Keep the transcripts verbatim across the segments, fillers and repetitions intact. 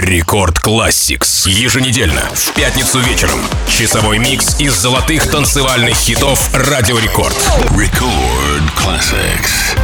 Рекорд Classics. Еженедельно, в пятницу вечером. Часовой микс из золотых танцевальных хитов Радио Рекорд. Record Classics.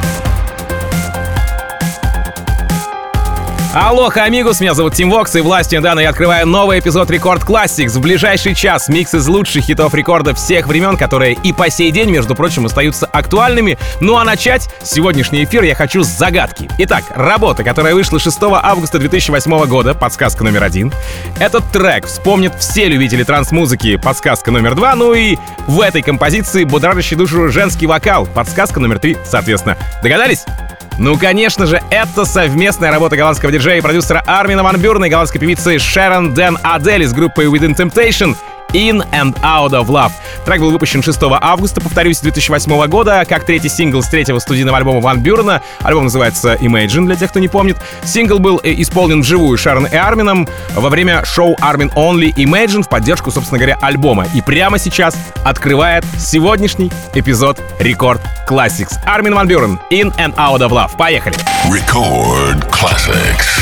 Алоха, амигус, меня зовут Тим Вокс, и властью Дана я открываю новый эпизод Рекорд Classics. В ближайший час микс из лучших хитов рекорда всех времен, которые и по сей день, между прочим, остаются актуальными. Ну а начать сегодняшний эфир я хочу с загадки. Итак, работа, которая вышла шестого августа две тысячи восьмого года, подсказка номер один. Этот трек вспомнят все любители транс-музыки, подсказка номер два. Ну и в этой композиции будоражащий душу женский вокал, подсказка номер три, соответственно. Догадались? Ну, конечно же, это совместная работа голландского диджея и продюсера Армина ван Бюрена и голландской певицы Шерон Дэн Адель из группы Within Temptation In and Out of Love. Трек был выпущен шестого августа, повторюсь, две тысячи восьмого года, как третий сингл с третьего студийного альбома Ван Бюрена. Альбом называется Imagine, для тех, кто не помнит. Сингл был исполнен вживую Шерон и Армином во время шоу Armin Only Imagine в поддержку, собственно говоря, альбома. И прямо сейчас открывает сегодняшний эпизод Рекорд Classics. Армин ван Бюрен, In and Out of Love. Поехали! Record Classics.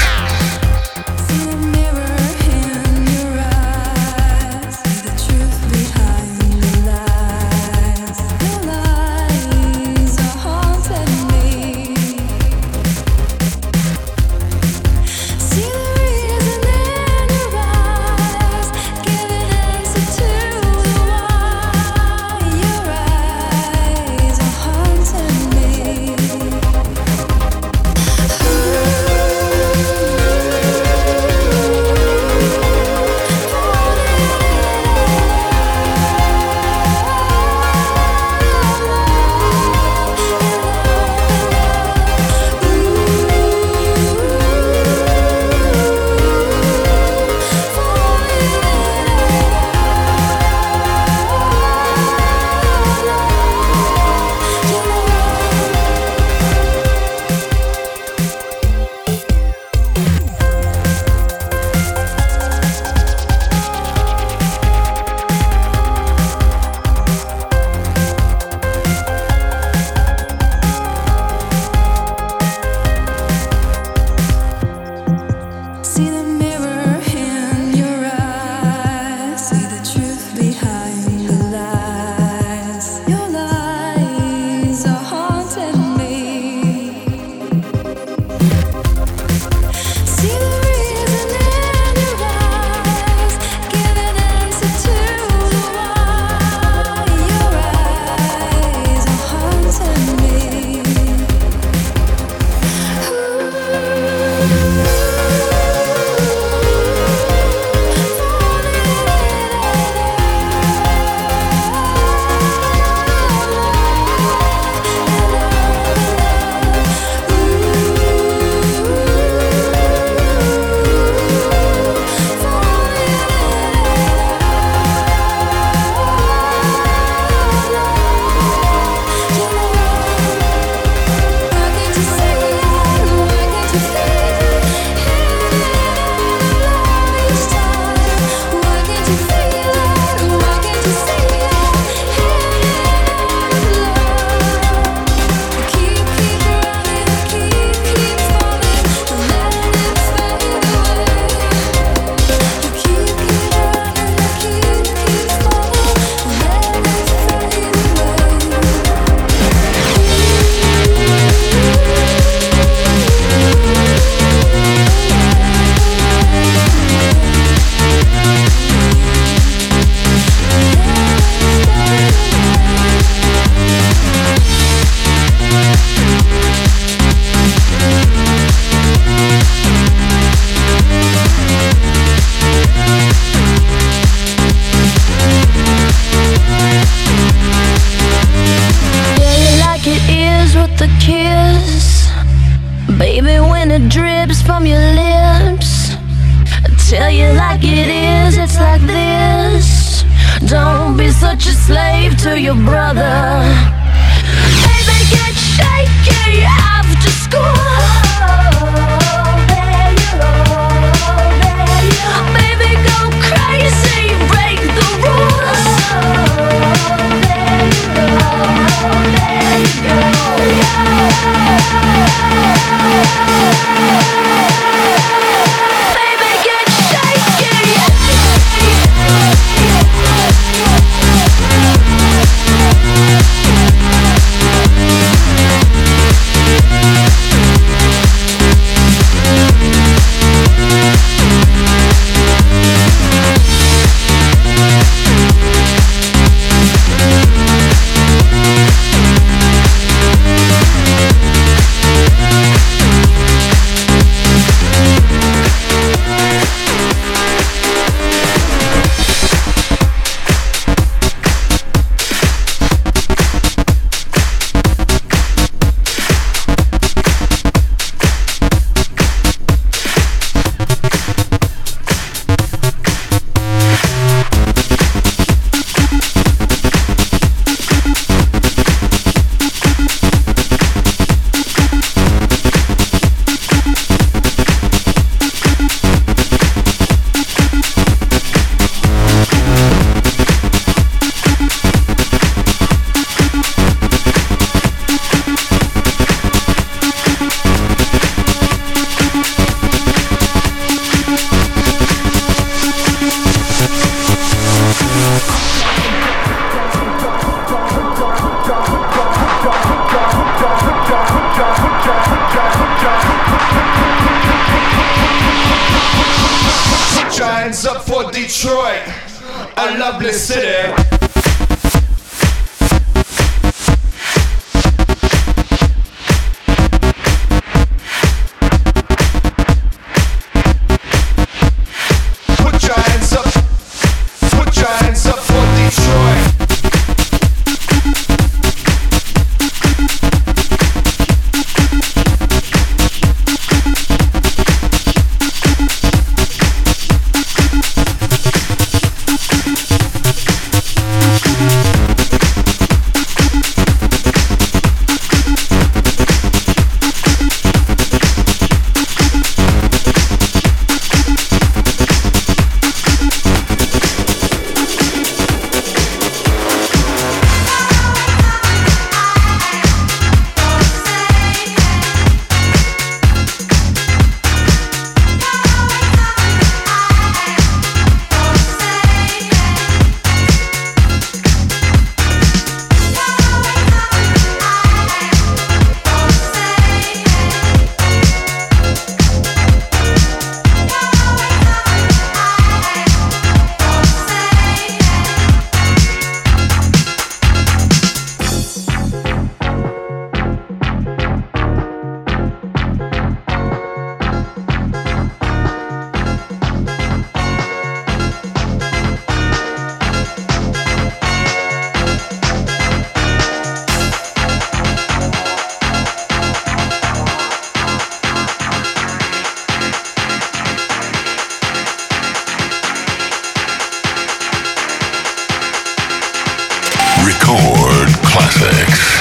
Baby hands up for Detroit, a lovely city. Put your hands up, put your hands up for Detroit. Record classics.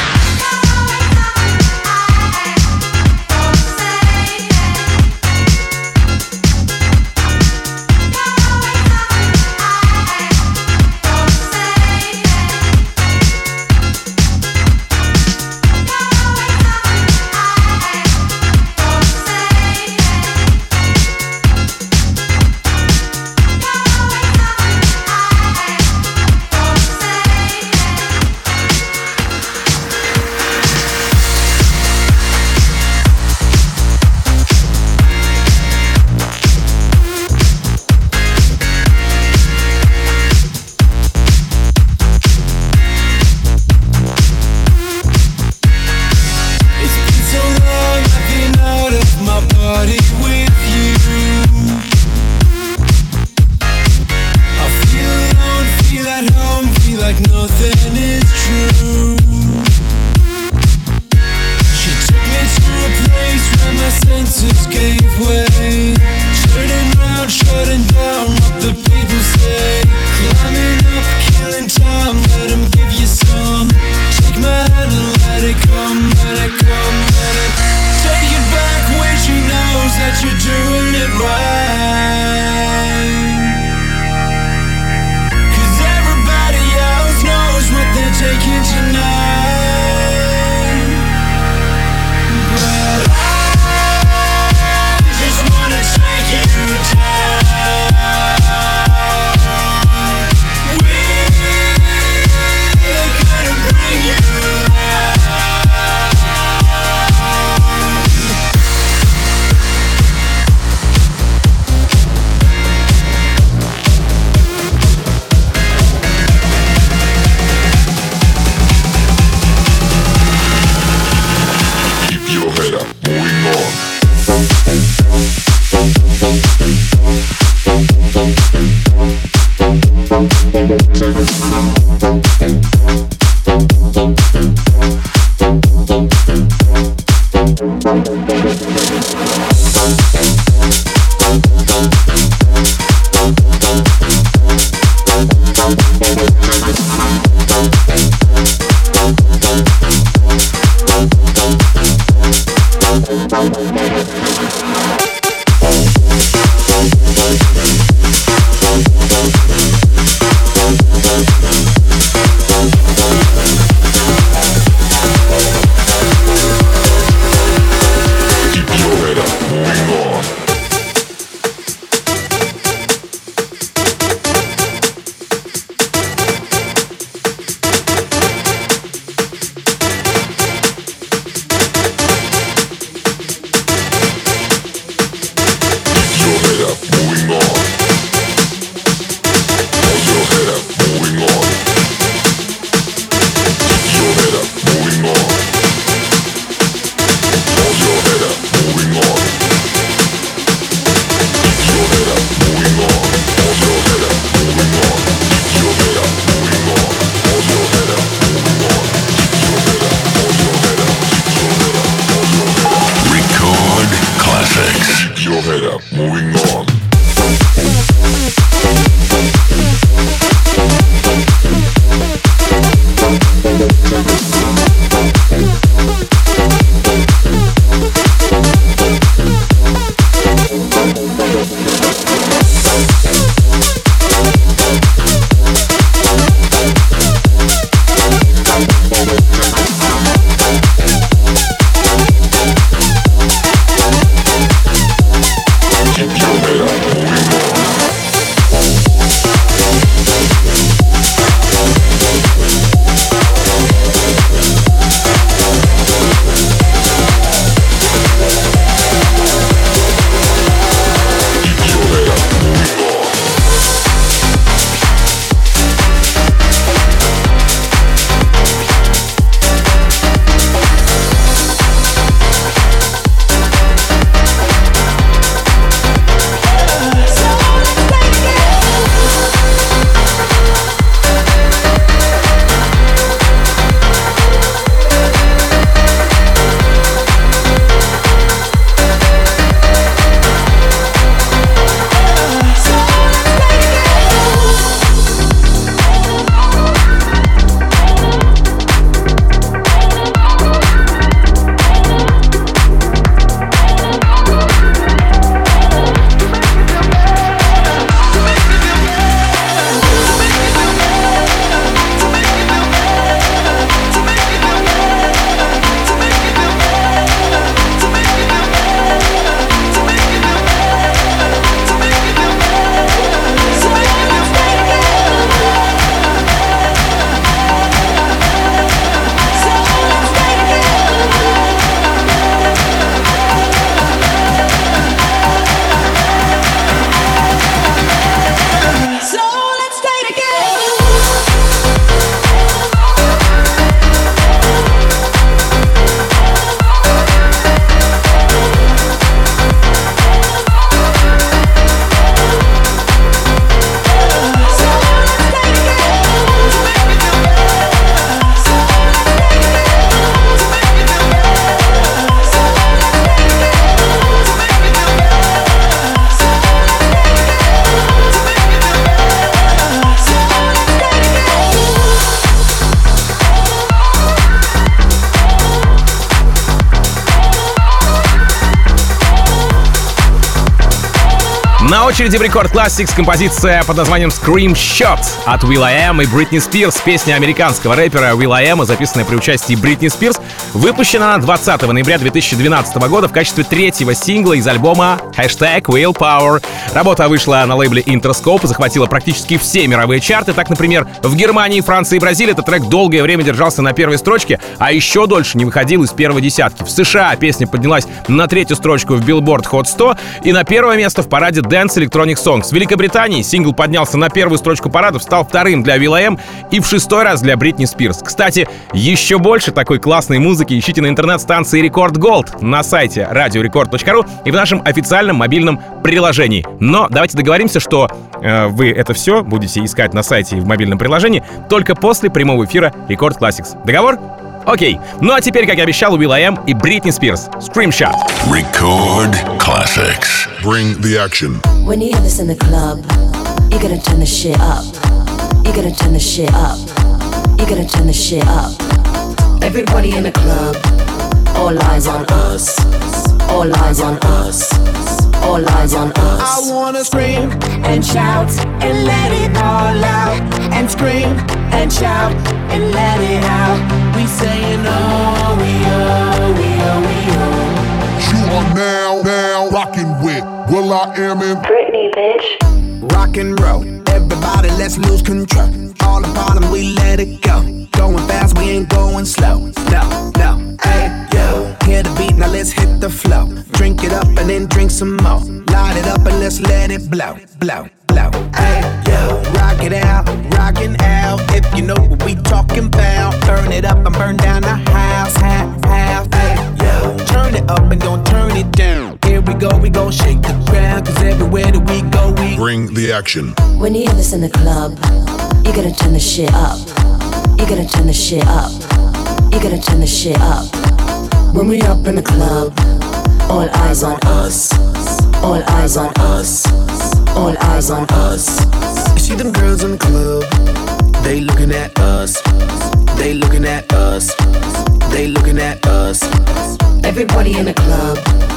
На очереди в Рекорд Classics композиция под названием Scream Shot от will.i.am и Бритни Спирс. Песня американского рэпера will.i.am, записанная при участии Бритни Спирс, выпущена двадцатого ноября две тысячи двенадцатого года в качестве третьего сингла из альбома хэштег Willpower. Работа вышла на лейбле Interscope и захватила практически все мировые чарты. Так, например, в Германии, Франции и Бразилии этот трек долгое время держался на первой строчке, а еще дольше не выходил из первой десятки. В США песня поднялась на третью строчку в Billboard Hot сто и на первое место в параде Dance Electronic Songs. В Великобритании сингл поднялся на первую строчку парадов, стал вторым для will.i.am и в шестой раз для Бритни Спирс. Кстати, еще больше такой классной музыки ищите на интернет-станции Record Gold, на сайте радио рекорд точка ру и в нашем официальном мобильном приложении. Но давайте договоримся, что э, вы это все будете искать на сайте и в мобильном приложении только после прямого эфира Record Classics. Договор? Окей. Ну а теперь, как и обещал, will.i.am и Бритни Спирс. Scream Shot. Record Classics. Bring the action. When you hear this in the club, you gotta turn the shit up. You gotta turn the shit up. You gotta turn the shit up. Everybody in the club, all eyes on us. All eyes on us. All eyes on us. I wanna scream and shout and let it all out. And scream and shout and let it out. We saying oh, we oh, we oh, we oh. You are now, now rocking with will.i.am and Britney, bitch. Rock and roll, everybody let's lose control. All the bottom we let it go. Going fast, we ain't going slow. No, no, hey, yo. Hear the beat, now let's hit the flow. Drink it up and then drink some more. Light it up and let's let it blow, blow, blow. Hey, yo. Rock it out, rockin' out. If you know what we talking about. Burn it up and burn down the house, house, house. Hey, yo. Turn it up and don't turn it down. Here we go, we gon' shake the ground. Cause everywhere that we go, we bring the action. When you hear this in the club, you gotta turn the shit up. You gotta turn the shit up. You gotta turn the shit up. When we up in the club, all eyes on us. All eyes on us. All eyes on us. You see them girls in the club, they looking at us. They looking at us. They looking at us. Everybody in the club,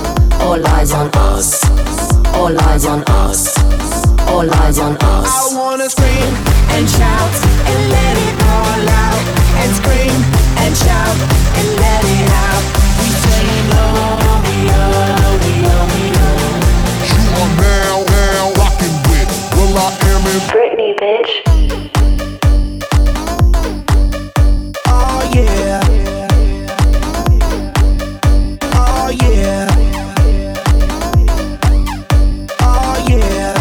all eyes on us. All eyes on us. All eyes on us. I wanna scream and shout and let it all out. And scream and shout and let it out. We saying oh, we oh, we oh, we oh. You are now, now rocking with Will I Am in Britney, bitch. Oh yeah. Oh yeah. Oh yeah.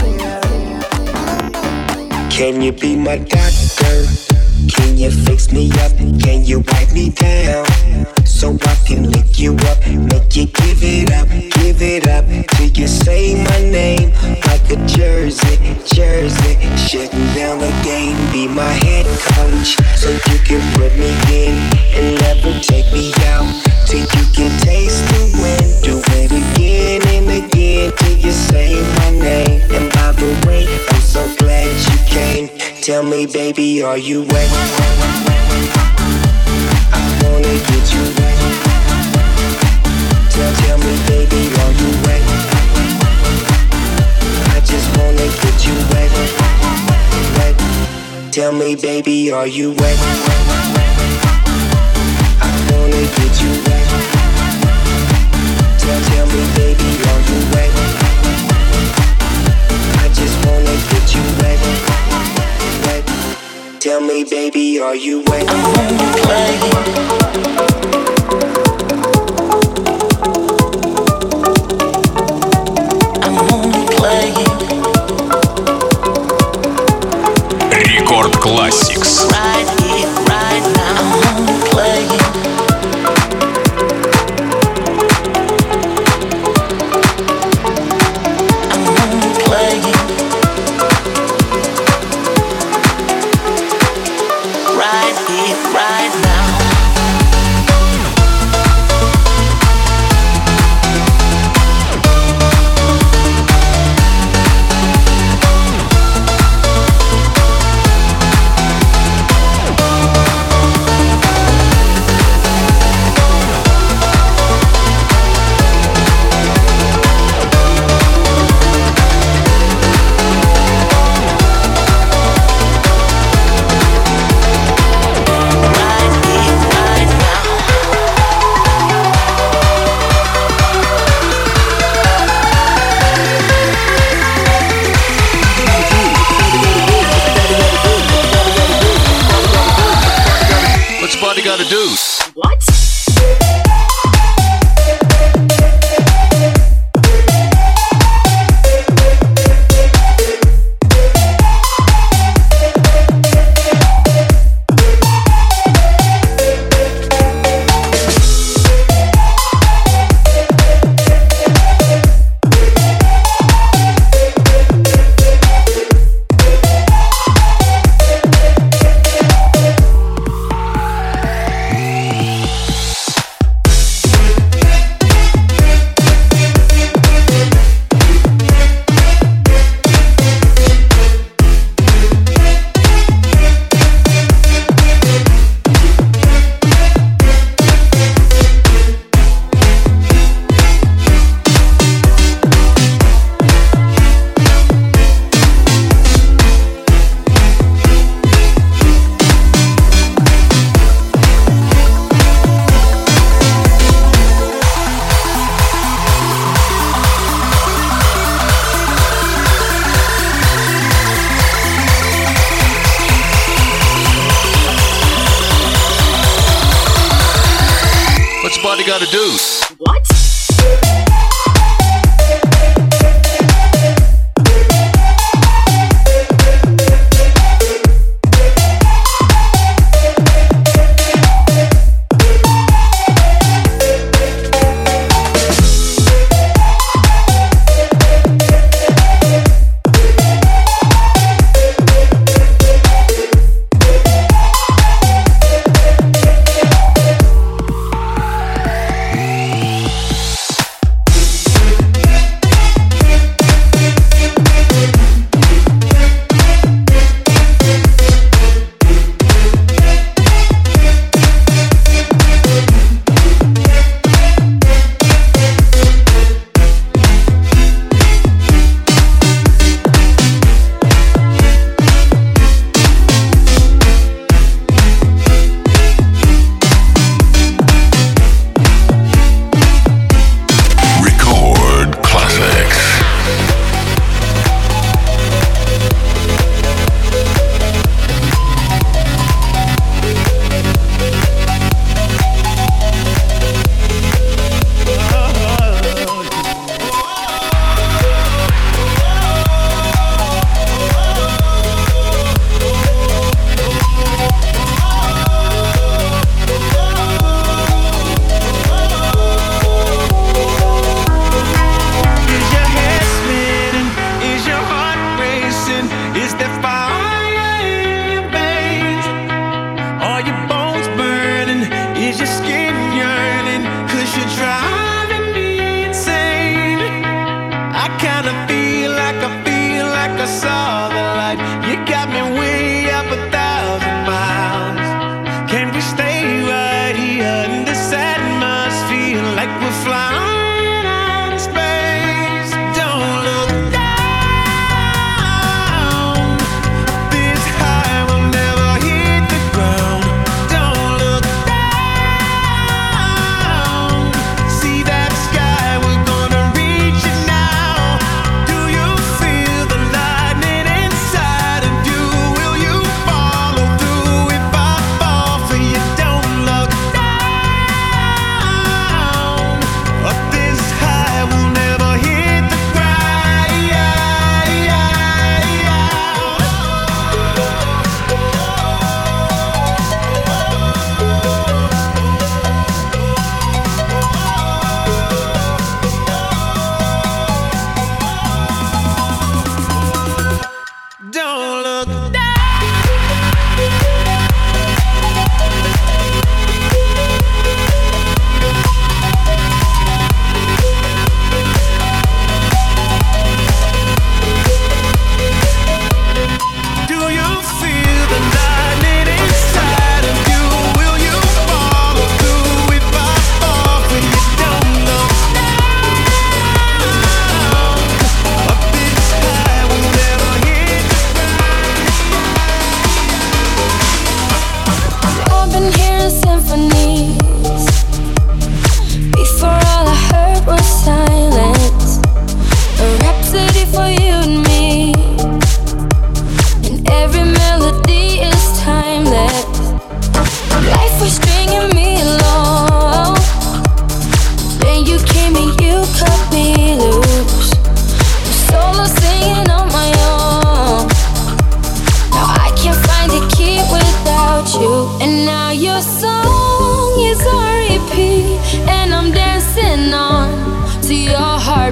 Can you be my doctor? Can you fix me up? Can you wipe me down? So I can lick you up, make you give it up, give it up till you say my name like a jersey, jersey. Shutting down the game, be my head coach, so you can put me in and never take me out till you can taste the wind. Do it again and again till you say my name. And by the way, I'm so glad you came. Tell me, baby, are you wet? I wanna get you wet. Tell, tell me, baby, are you wet? I just wanna get you wet, wet. Tell me, baby, are you wet? I wanna get you wet. Tell, tell me, baby, are you wet? I just wanna get you wet, wet. Tell me, baby, are you wet? I wanna play. Рекорд Classics. Right here, right now, I'm only playing. I'm only playing. Right here, right now. Gotta do. What? Body gotta do. What?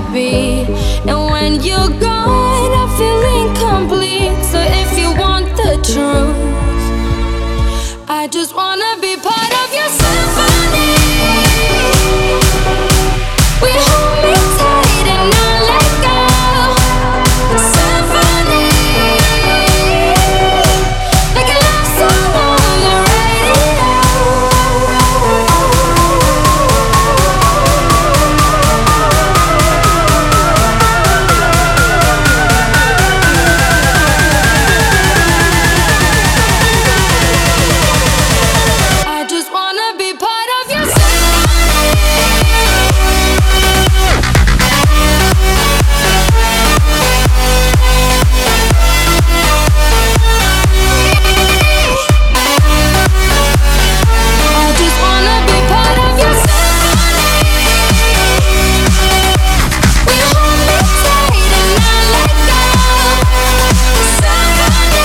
heartbeat. And when you're gone, I feel incomplete. So if you want the truth, I just wanna be part of your symphony. We hold me tight and not let go. Symphony, like a love song on the radio. I just wanna be part of your I just wanna be part of your symphony. We hold me tight and not let go. Symphony,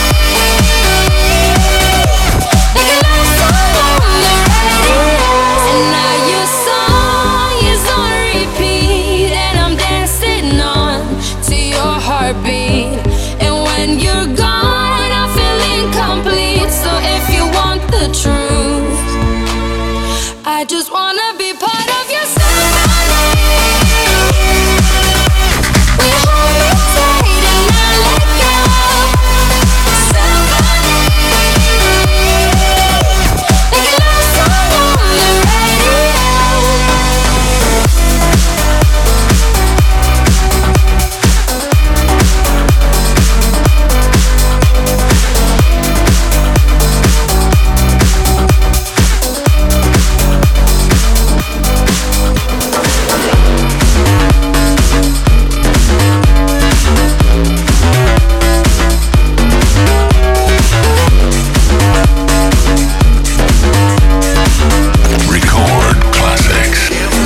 like a love song on the radio. And now your song is on repeat, and I'm dancing on to your heartbeat. And when you're gone, I feel incomplete. So if you want the truth, I just wanna be part of your symphony. We hold me tight and not let go. Symphony, like a love song on the radio. Record classics.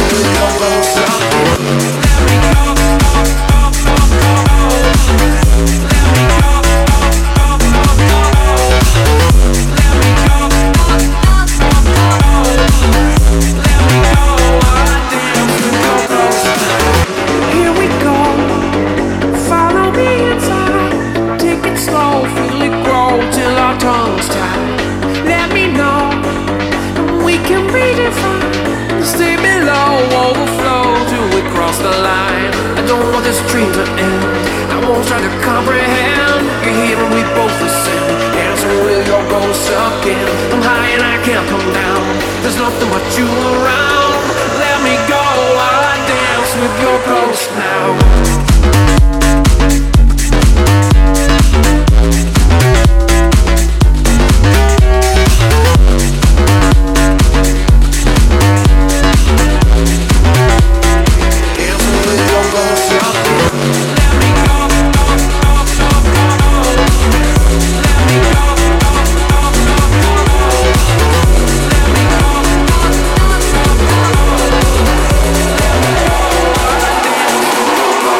Here we go. Follow me inside. Take it slow, feel it grow till our tongues tie. Let me know we can redefine. Stay below, overflow till we cross the line. I don't want this dream to end. I won't try to comprehend. You're here and we both listen. Answer with your ghost again. I'm high and I can't come down. There's nothing but you around. Let me go, I dance with your ghost now. Answer with your ghost again. Let me go, go, go, go, go. Let me go, go, go, go, go. Let me go, go, go, go, go. Let me go, I dance with your ghost.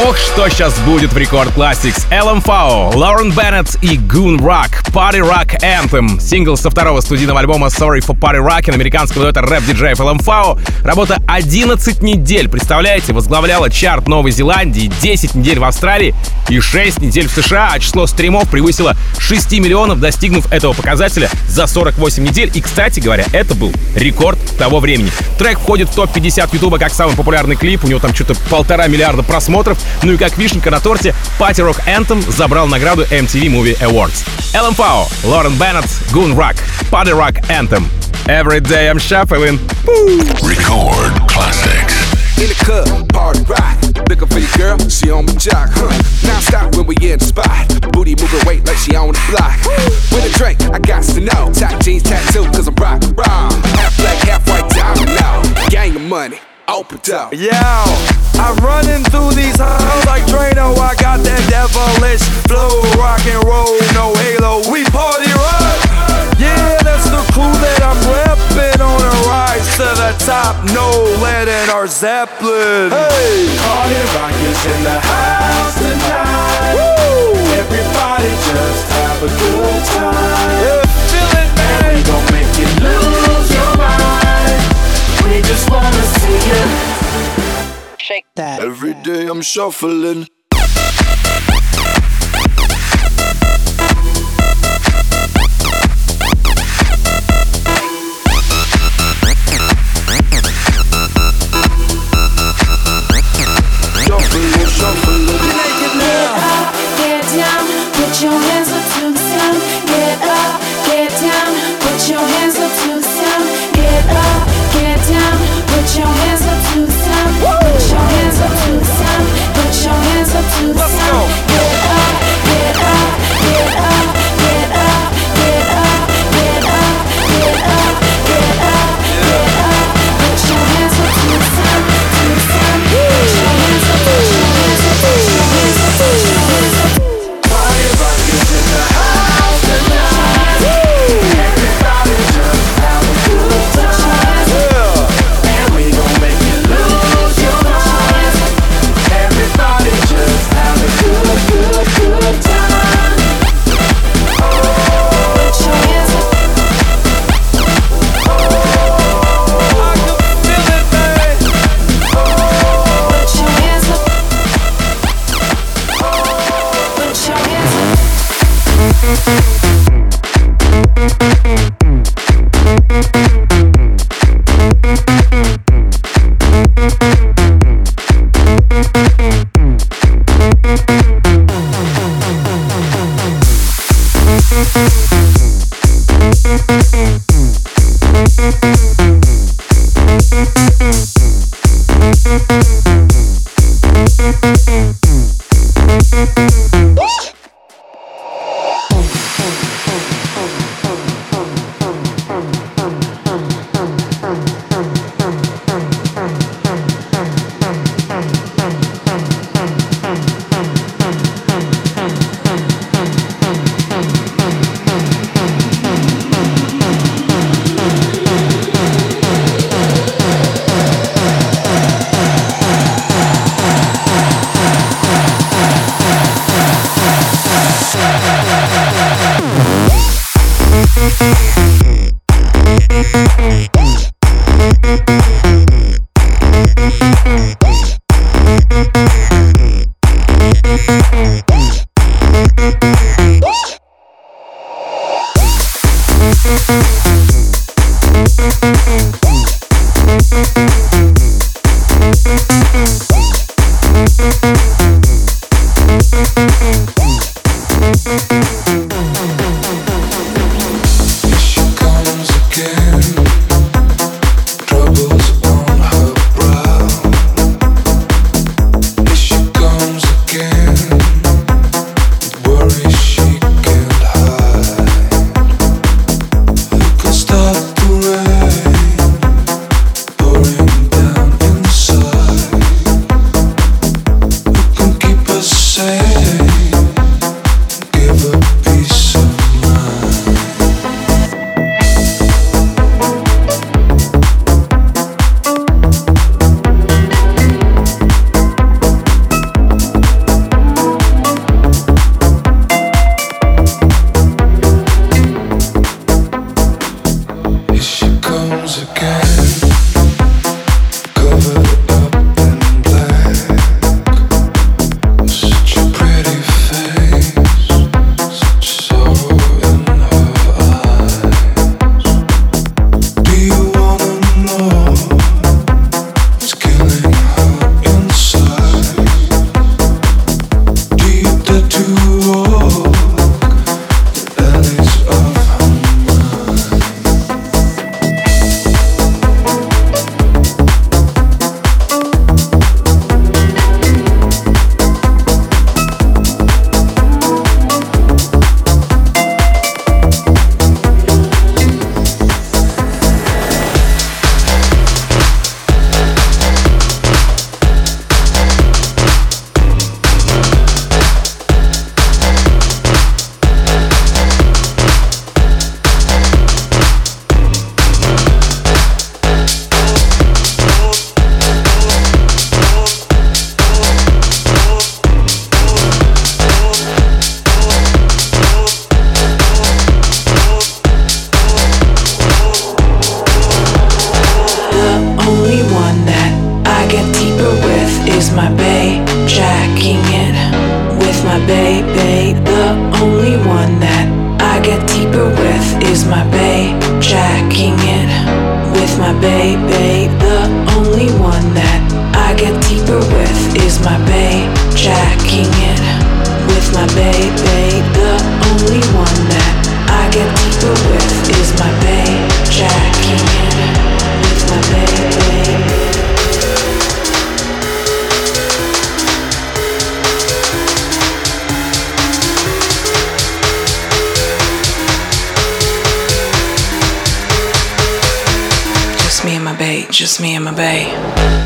Ох, что сейчас будет в Рекорд Classics. эл эм эф о, Лорен Беннет и Goon Rock, Party Rock Anthem. Сингл со второго студийного альбома Sorry for Party Rockin' американского дуэта рэп-диджеев эл эм эф о. Работа одиннадцать недель, представляете, возглавляла чарт Новой Зеландии, десять недель в Австралии и шесть недель в США, а число стримов превысило шесть миллионов, достигнув этого показателя за сорок восемь недель. И, кстати говоря, это был рекорд того времени. Трек входит в топ пятьдесят Ютуба как самый популярный клип, у него там что-то полтора миллиарда просмотров. Ну и как вишенка на торте, Party Rock Anthem забрал награду эм ти ви Movie Awards. эл эм эф о, Лорен Беннет, Goon Rock, Party Rock Anthem. Every day I'm shuffling. Record classics. In the club, party rock. Looking for your girl, she on my jock, huh? Now stop when we in the spot. Booty moving weight like she on the block. With a drink, I got to know. Top jeans tattoo, cause I'm rock raw. Half black, half white, diamond now. Gang of money, open up. Yo, I'm running through these halls like Drano. I got that devilish flow. Rock and roll, no halo. We party rock. Yeah, that's the clue that I'm reppin' on a rise to the top. No lead in our Zeppelin. Hey, Party rock is in the house tonight. woo! Everybody just have a good time. Yeah, feel it, And we man. gon' make you lose your mind. We just wanna see you Shake that. Every day I'm shuffling. Shuffling, shuffling. Get up, get down, put your hands up to the sound. Get up, get down, put your hands up to the sound. Get up, get down, put your hands up to the sound. Put your hands up to the sound. Put your hands up to the Let's sound. go. Get up, get up, get up, get up, get up, get up, get up, get up, get up. Put your hands up to the sound, to the sound. Put your hands up, put your hands up, put your hands up, put your hands up. Party rock is in the house tonight. Everybody just have a good time. And we gon' make you lose your mind. Everybody just have a good, good, good time. Put your hands up. I can feel it, man. Put your hands up. Put your hands up. Stop the rain pouring down inside. my bae, jacking it with my bae, bae. The only one that I get deeper with is my bae, jacking it with my bae, bae. The only one that I get deeper with is my bae, jacking it with my bae, bae. The only one that I get deeper with is my bae, jacking it with my bae, bae. Just me and my bae, just me and my bae.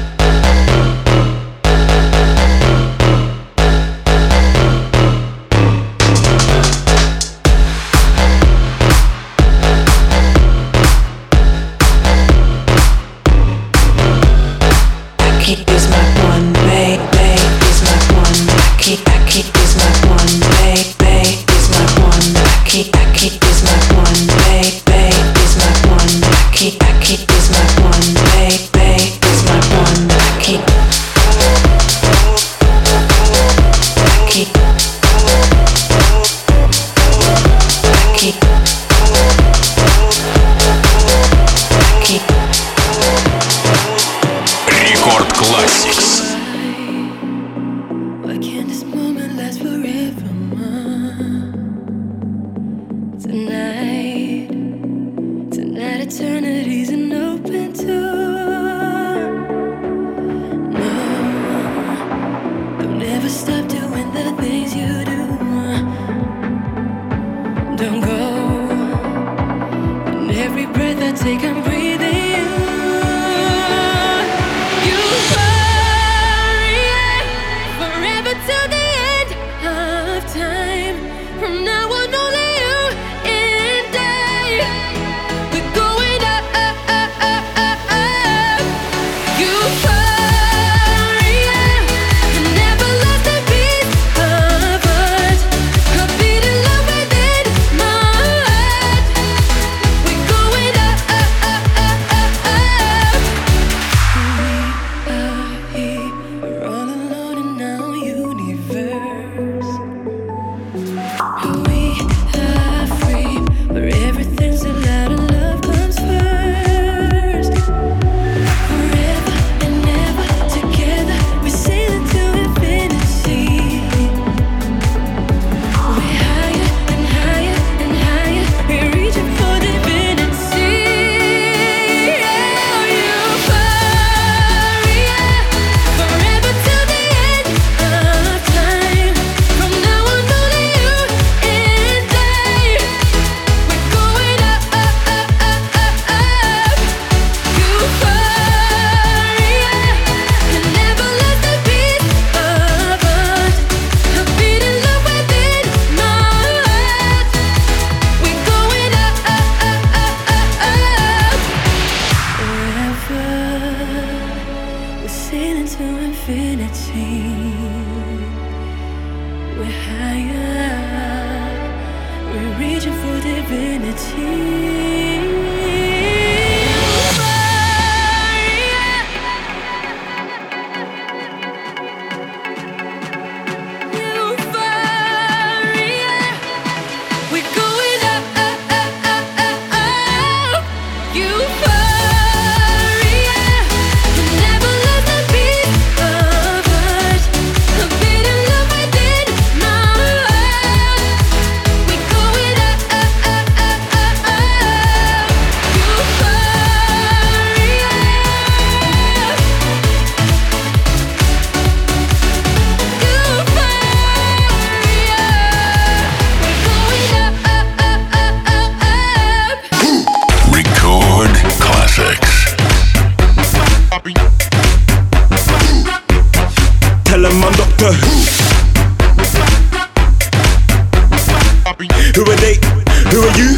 Who are they? Who are you?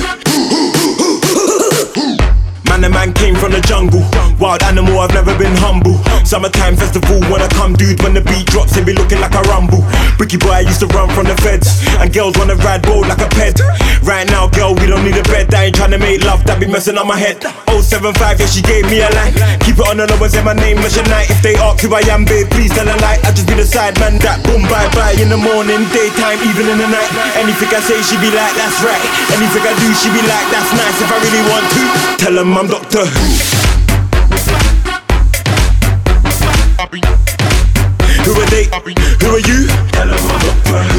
Man, the man came from the jungle. Wild animal, I've never been humble. Summertime festival, when I come, dude, when the beat drops, they be looking like a rumble. Bricky boy, I used to run from the feds, and girls wanna ride roll like a ped. Right now, girl, we don't don't need a bed, I ain't tryna make love, that be messing up my head. oh seven five, yeah, she gave me a line. Keep it on the low and say my name is night. If they ask who I am, babe, please tell a lie. I just be the side man that boom, bye bye. In the morning, daytime, even in the night. Anything I say, she be like, that's right. Anything I do, she be like, that's nice. If I really want to, tell them I'm Doctor Who. Who are they? Who are you? Tell them I'm Doctor Who.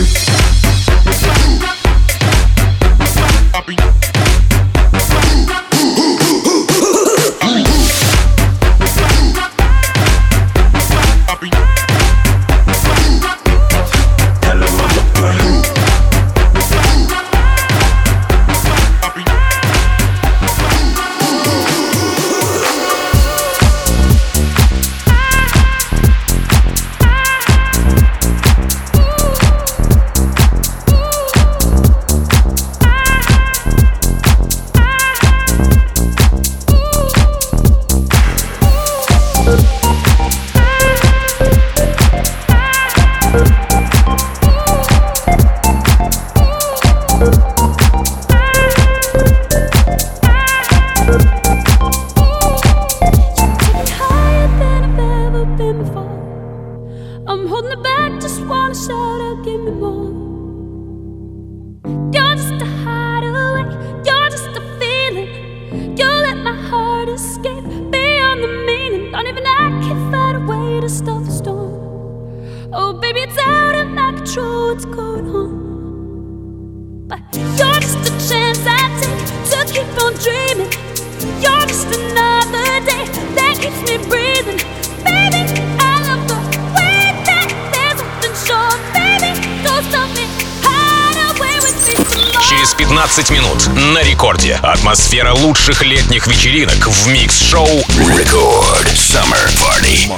пятнадцать минут на рекорде. Атмосфера лучших летних вечеринок в микс-шоу Record Summer Party.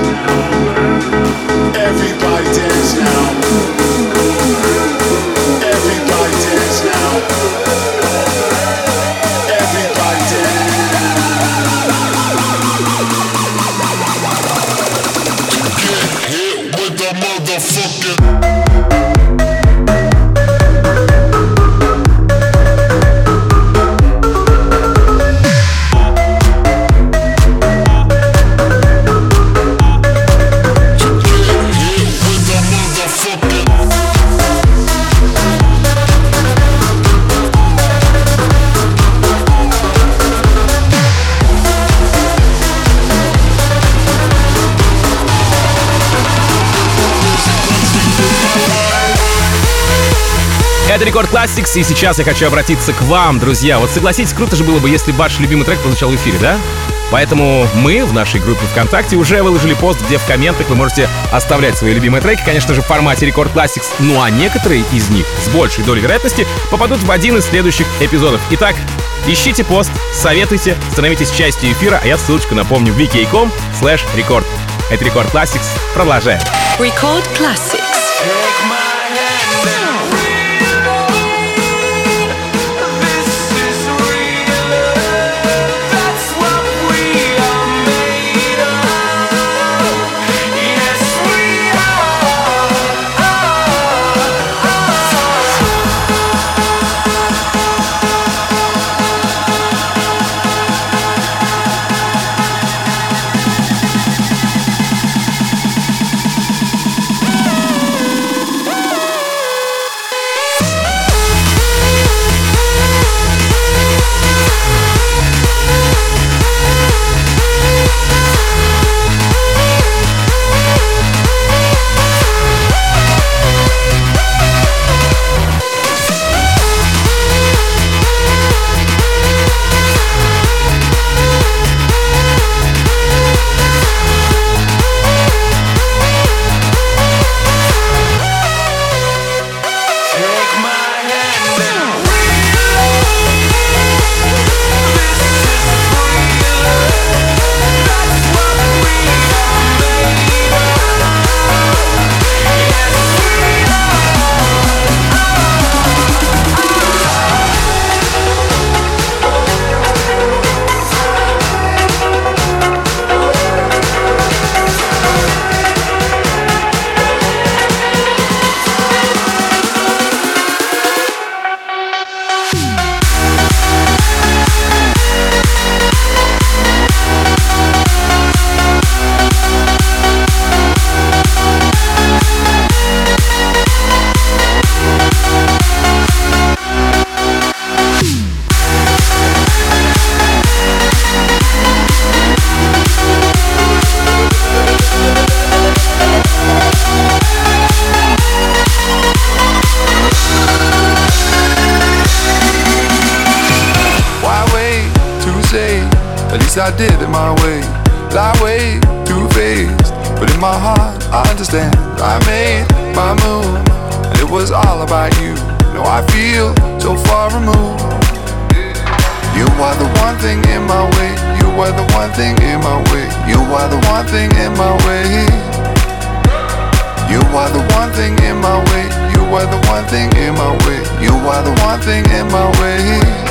Everybody dance now. Это Рекорд Classics, и сейчас я хочу обратиться к вам, друзья. Вот согласитесь, круто же было бы, если бы ваш любимый трек прозвучал в эфире, да? Поэтому мы в нашей группе ВКонтакте уже выложили пост, где в комментах вы можете оставлять свои любимые треки, конечно же, в формате Рекорд Classics, ну а некоторые из них с большей долей вероятности попадут в один из следующих эпизодов. Итак, ищите пост, советуйте, становитесь частью эфира, а я ссылочку напомню в wiki.com слэш рекорд. Это Рекорд Classics. Продолжаем. Record Classics. I did it my way, lie way too faced, but in my heart I understand. I made my move, and it was all about you. Now I feel so far removed. You are the one thing in my way. You are the one thing in my way. You are the one thing in my way. You are the one thing in my way. You are the one thing in my way. You are the one thing in my way.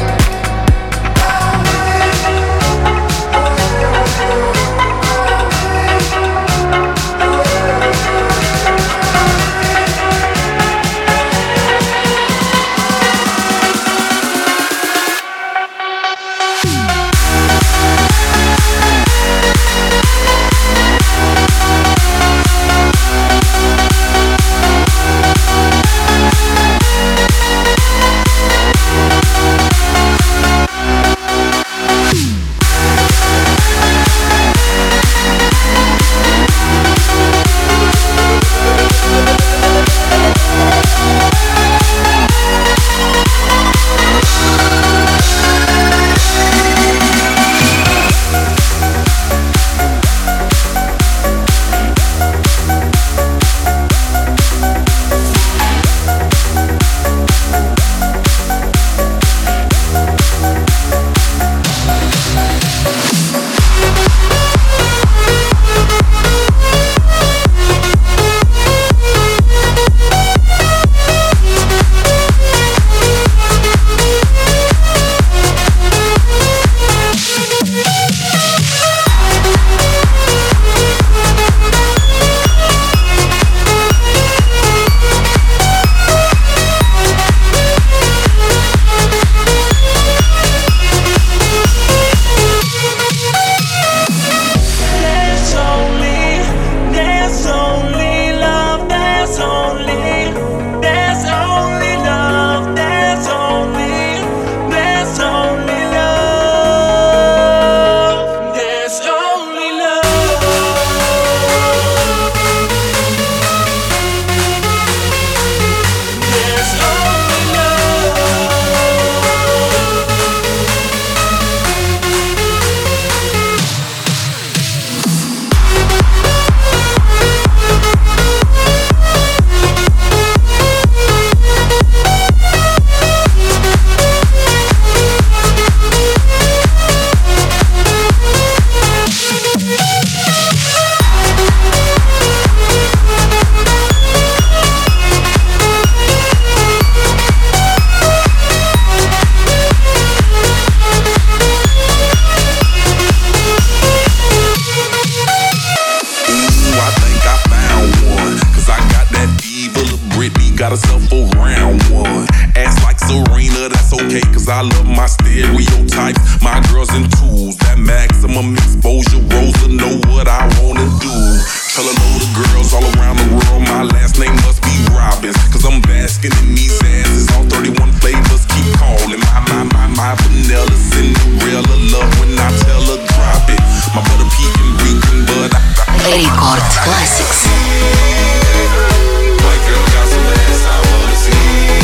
got herself a round one. Ass like Serena, that's okay, cause I love my stereotypes. My girls in twos, that maximum exposure. Rosa know what I wanna do. Tell a load of girls all around the world my last name must be Robbins, cause I'm basking in these asses. All thirty-one flavors keep calling. My, my, my, my vanilla Cinderella love when I tell her drop it. My butter pecan reeking, but I, I Record Classics. White girl got some ass I wanna see.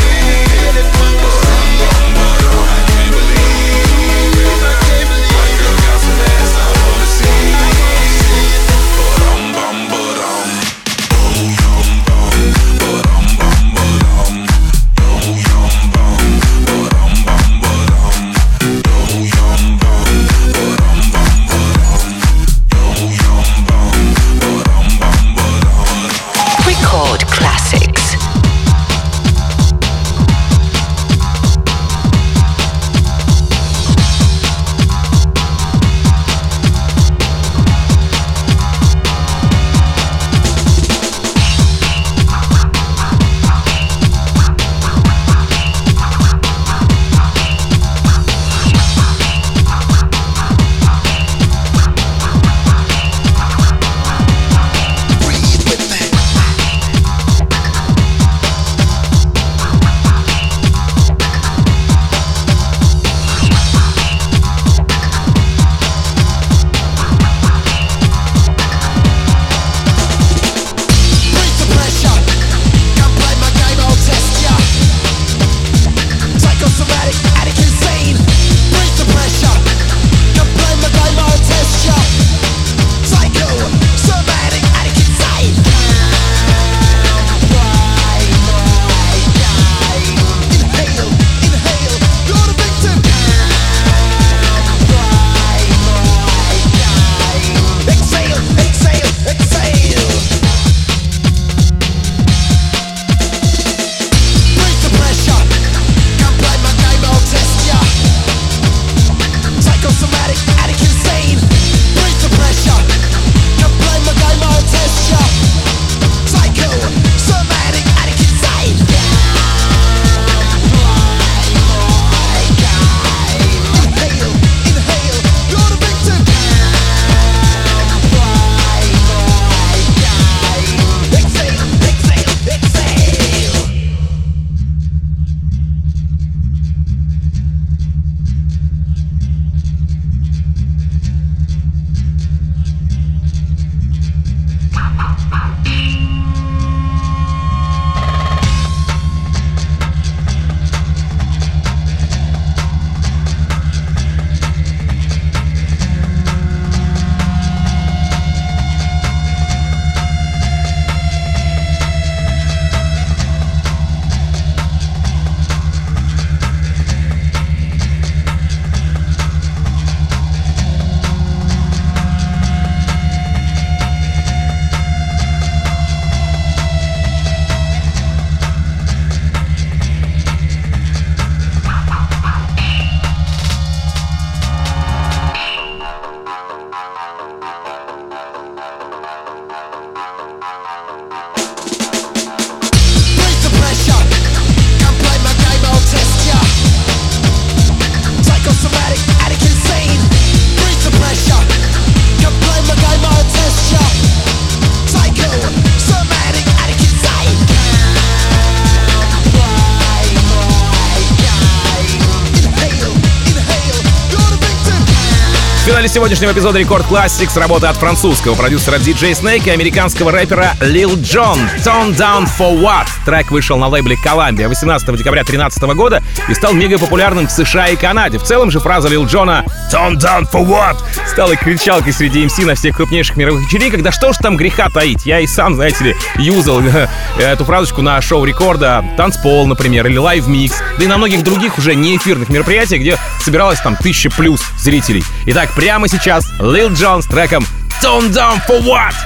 I can't believe. White girl got some ass I wanna see. Ba-dum bum ba-dum. Oh yum bum. Ba-dum bum ba-dum. Oh yum bum. Ba-dum bum ba-dum. Oh yum bum. Ba-dum bum ba-dum. Oh yum bum. Ba-dum bum ba-dum. Record Classics. В финале сегодняшнего эпизода Record Classics работа от французского продюсера ди джей Snake и американского рэпера Lil Jon. Tone Down for What? Трек вышел на лейбле Columbia восемнадцатого декабря две тысячи тринадцатого года и стал мега популярным в США и Канаде. В целом же фраза Lil Jona Tone Down for What? Стала кричалкой среди эм си на всех крупнейших мировых вечеринках. Да что ж там греха таить? Я и сам, знаете ли, юзал эту фразочку на шоу Рекорда, танцпол, например, или лайв-микс, да и на многих других уже неэфирных мероприятиях, где собиралось там тысяча плюс зрителей. Итак, прямо сейчас Lil Jon с треком Tone Down for What?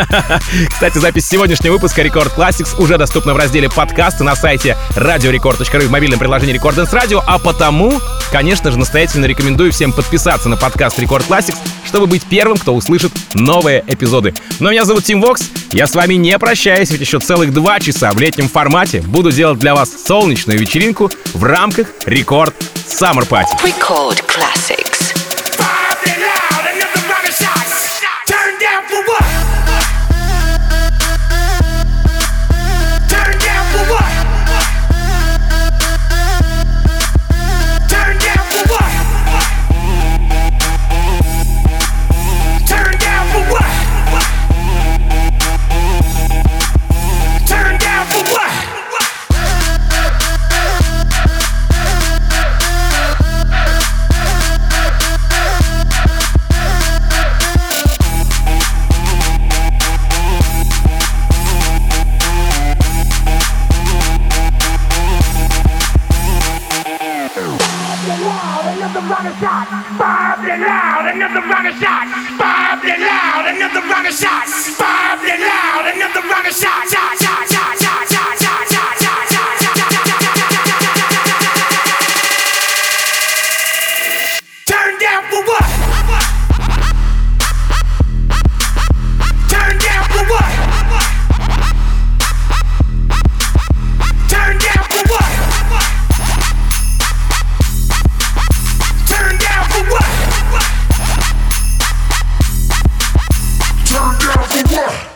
Кстати, запись сегодняшнего выпуска Record Classics уже доступна в разделе подкасты на сайте радиорекорд точка ру в мобильном приложении Record Dance Radio, а потому, конечно же, настоятельно рекомендую всем подписаться на подкаст Record Classics, чтобы быть первым, кто услышит новые эпизоды. Но меня зовут Тим Вокс, я с вами не прощаюсь, ведь еще целых два часа в летнем формате буду делать для вас солнечную вечеринку в рамках Рекорд Summer Party. Record Classics. Turn down for what?